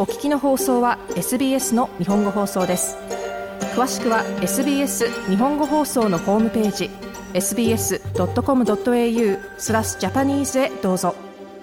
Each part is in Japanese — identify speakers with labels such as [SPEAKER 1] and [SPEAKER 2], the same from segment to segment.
[SPEAKER 1] お聞きの放送は SBS の日本語放送です。詳しくは SBS 日本語放送のホームページ sbs.com.au/Japanese へどうぞ。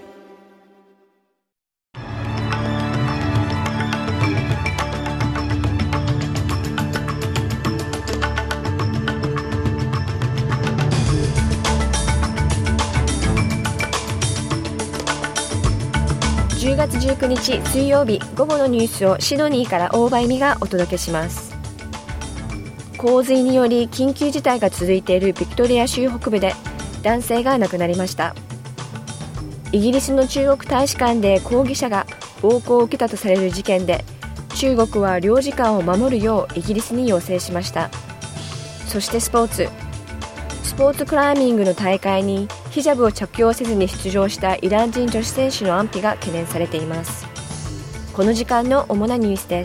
[SPEAKER 2] 10月19日水曜日、午後のニュースをシドニーから大場恵美がお届けします。洪水により緊急事態が続いているビクトリア州北部で男性が亡くなりました。イギリスの中国大使館で抗議者が暴行を受けたとされる事件で、中国は領事館を守るようイギリスに要請しました。そしてスポーツクライミングの大会にヒジャブを着用せずに出場したイラン人女子選手の安否が懸念されています。この時間の主なニュースです。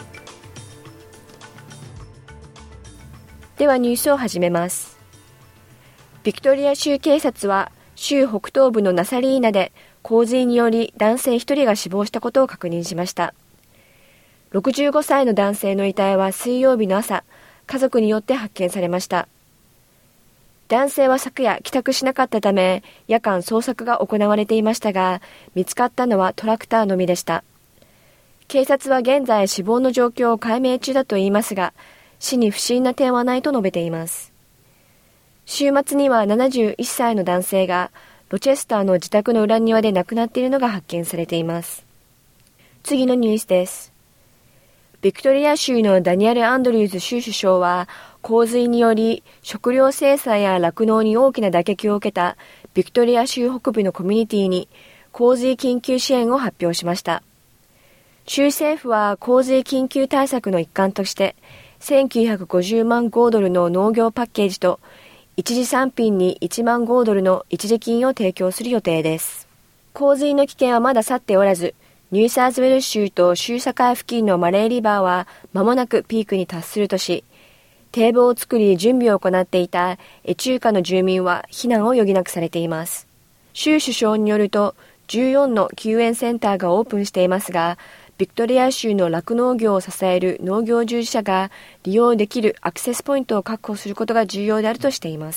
[SPEAKER 2] ではニュースを始めます。ビクトリア州警察は州北東部のナサリーナで洪水により男性1人が死亡したことを確認しました。65歳の男性の遺体は水曜日の朝、家族によって発見されました。男性は昨夜帰宅しなかったため夜間捜索が行われていましたが、見つかったのはトラクターのみでした。警察は現在死亡の状況を解明中だといいますが、死に不審な点はないと述べています。週末には71歳の男性がロチェスターの自宅の裏庭で亡くなっているのが発見されています。次のニュースです。ビクトリア州のダニエル・アンドリューズ州首相は洪水により食料生産や酪農に大きな打撃を受けたビクトリア州北部のコミュニティに洪水緊急支援を発表しました。州政府は洪水緊急対策の一環として1950万豪ドルの農業パッケージと一時産品に1万豪ドルの一時金を提供する予定です。洪水の危険はまだ去っておらず、ニューサウスウェルズ州と州境付近のマレーリバーは間もなくピークに達するとし、堤防を作り準備を行っていたエチューカの住民は避難を余儀なくされています。州首相によると14の救援センターがオープンしていますが、ビクトリア州の酪農業を支える農業従事者が利用できるアクセスポイントを確保することが重要であるとしています。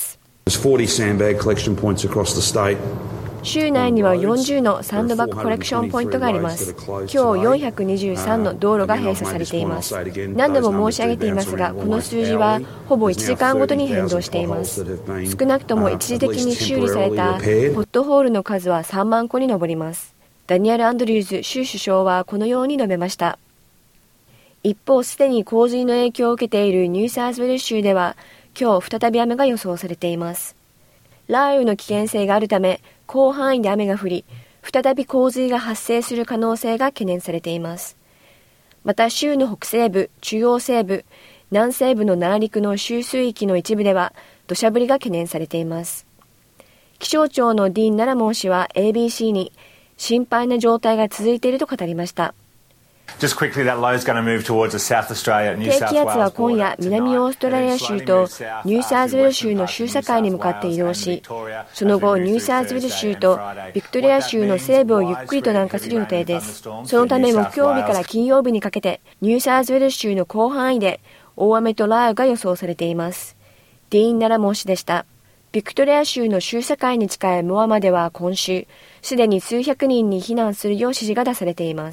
[SPEAKER 2] 州内には40のサンドバッグコレクションポイントがあります。今日423の道路が閉鎖されています。何度も申し上げていますが、この数字はほぼ1時間ごとに変動しています。少なくとも一時的に修理されたポットホールの数は3万個に上ります。ダニエル・アンドリューズ州首相はこのように述べました。一方、すでに洪水の影響を受けているニューサウスウェルズ州では今日再び雨が予想されています。雷雨の危険性があるため広範囲で雨が降り、再び洪水が発生する可能性が懸念されています。また州の北西部、中央西部、南西部の内陸の州水域の一部では土砂降りが懸念されています。気象庁のディーン・ナラモン氏は ABC に心配な状態が続いていると語りました。低気圧は今夜南オーストラリア州とニューサウスウェルズ州の州境に向かって移動し、その後ニューサウスウェルズ州とビクトリア州の西部をゆっくりと南下する予定です。そのため木曜日から金曜日にかけてニューサウスウェルズ州の広範囲で大雨と雷雨が予想されています。ディーン・ナラモン氏でした。ビクトリア州の州境に近いモアマでは今週すでに数百人に避難するよう指示が出されています。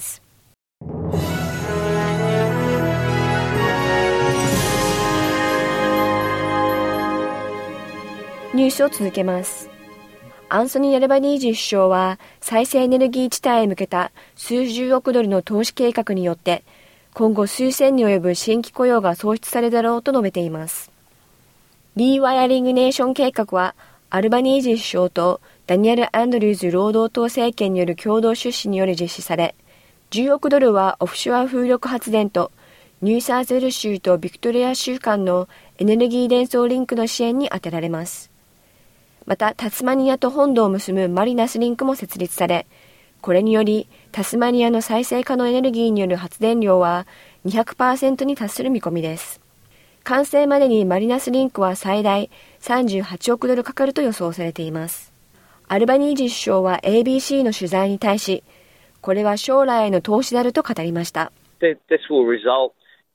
[SPEAKER 2] ニュースを続けます。アンソニー・アルバニージー首相は再生エネルギー地帯へ向けた数十億ドルの投資計画によって今後数千に及ぶ新規雇用が創出されるだろうと述べています。リーワイヤリングネーション計画はアルバニージー首相とダニエル・アンドリューズ労働党政権による共同出資により実施され、10億ドルはオフショア風力発電とニューサウスウェルズ州とビクトリア州間のエネルギー伝送リンクの支援に充てられます。またタスマニアと本土を結ぶマリナスリンクも設立され、これによりタスマニアの再生可能エネルギーによる発電量は 200% に達する見込みです。完成までにマリナスリンクは最大38億ドルかかると予想されています。アルバニージー首相は ABC の取材に対し、 これは将来への投資であると語りました。
[SPEAKER 3] This will result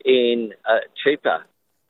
[SPEAKER 3] in cheaper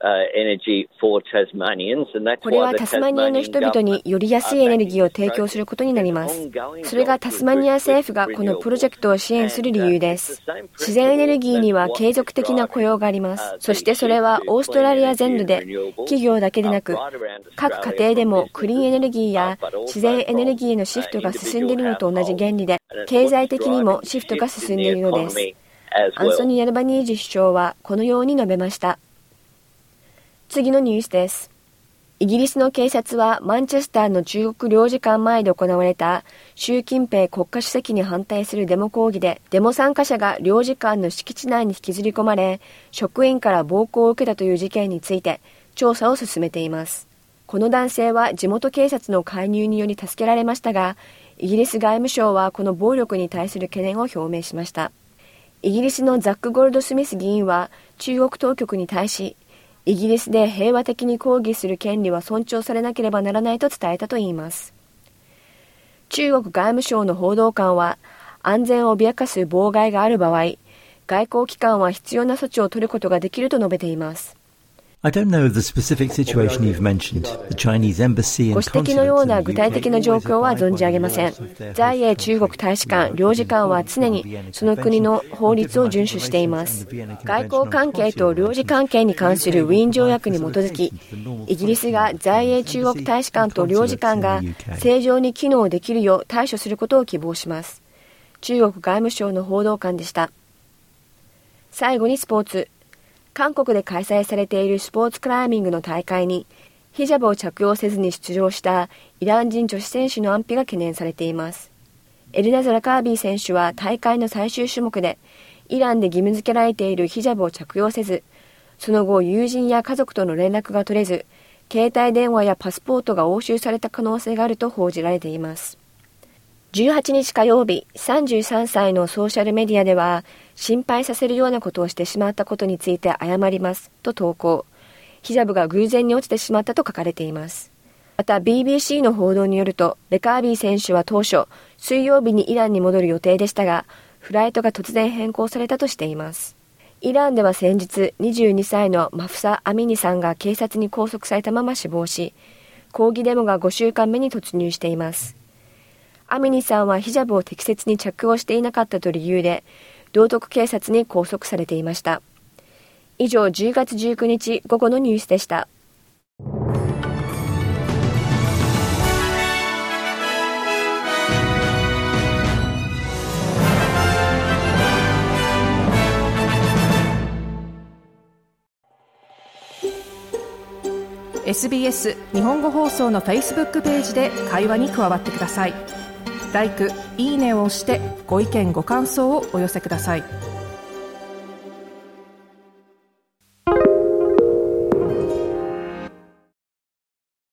[SPEAKER 3] energy for Tasmanians, and that's why
[SPEAKER 2] これはタスマニアの人々により安いエネルギーを提供することになります。それがタスマニア政府がこのプロジェクトを支援する理由です。自然エネルギーには継続的な雇用があります。そしてそれはオーストラリア全土で企業だけでなく各家庭でもクリーンエネルギーや自然エネルギーへのシフトが進んでいるのと同じ原理で、経済的にもシフトが進んでいるのです。アンソニー・アルバニージ首相はこのように述べました。次のニュースです。イギリスの警察はマンチェスターの中国領事館前で行われた習近平国家主席に反対するデモ抗議で、デモ参加者が領事館の敷地内に引きずり込まれ、職員から暴行を受けたという事件について調査を進めています。この男性は地元警察の介入により助けられましたが、イギリス外務省はこの暴力に対する懸念を表明しました。イギリスのザック・ゴールドスミス議員は中国当局に対し、イギリスで平和的に抗議する権利は尊重されなければならないと伝えたといいます。中国外務省の報道官は、安全を脅かす妨害がある場合、外交機関は必要な措置を取ることができると述べています。
[SPEAKER 4] I don't know the specific situation you've mentioned. The Chinese embassy and
[SPEAKER 2] ご指摘のような具体的な状況は存じ上げません。在英中国大使館、領事館は常にその国の法律を遵守しています。外交関係と領事関係に関するウィーン条約に基づき、イギリスが在英中国大使館と領事館が正常に機能できるよう対処することを希望します。中国外務省の報道官でした。最後にスポーツ。韓国で開催されているスポーツクライミングの大会にヒジャブを着用せずに出場したイラン人女子選手の安否が懸念されています。エルナズ・ラカービー選手は大会の最終種目でイランで義務付けられているヒジャブを着用せず、その後友人や家族との連絡が取れず、携帯電話やパスポートが押収された可能性があると報じられています。18日火曜日、33歳のソーシャルメディアでは、心配させるようなことをしてしまったことについて謝りますと投稿。ヒジャブが偶然に落ちてしまったと書かれています。また BBC の報道によると、レカービー選手は当初、水曜日にイランに戻る予定でしたが、フライトが突然変更されたとしています。イランでは先日、22歳のマフサ・アミニさんが警察に拘束されたまま死亡し、抗議デモが5週間目に突入しています。アミニさんはヒジャブを適切に着用していなかったと理由で、道徳警察に拘束されていました。以上、10月19日午後のニュースでした。
[SPEAKER 1] SBS 日本語放送の Facebook ページで会話に加わってください。LIKE、いいねを押してご意見ご感想をお寄せください。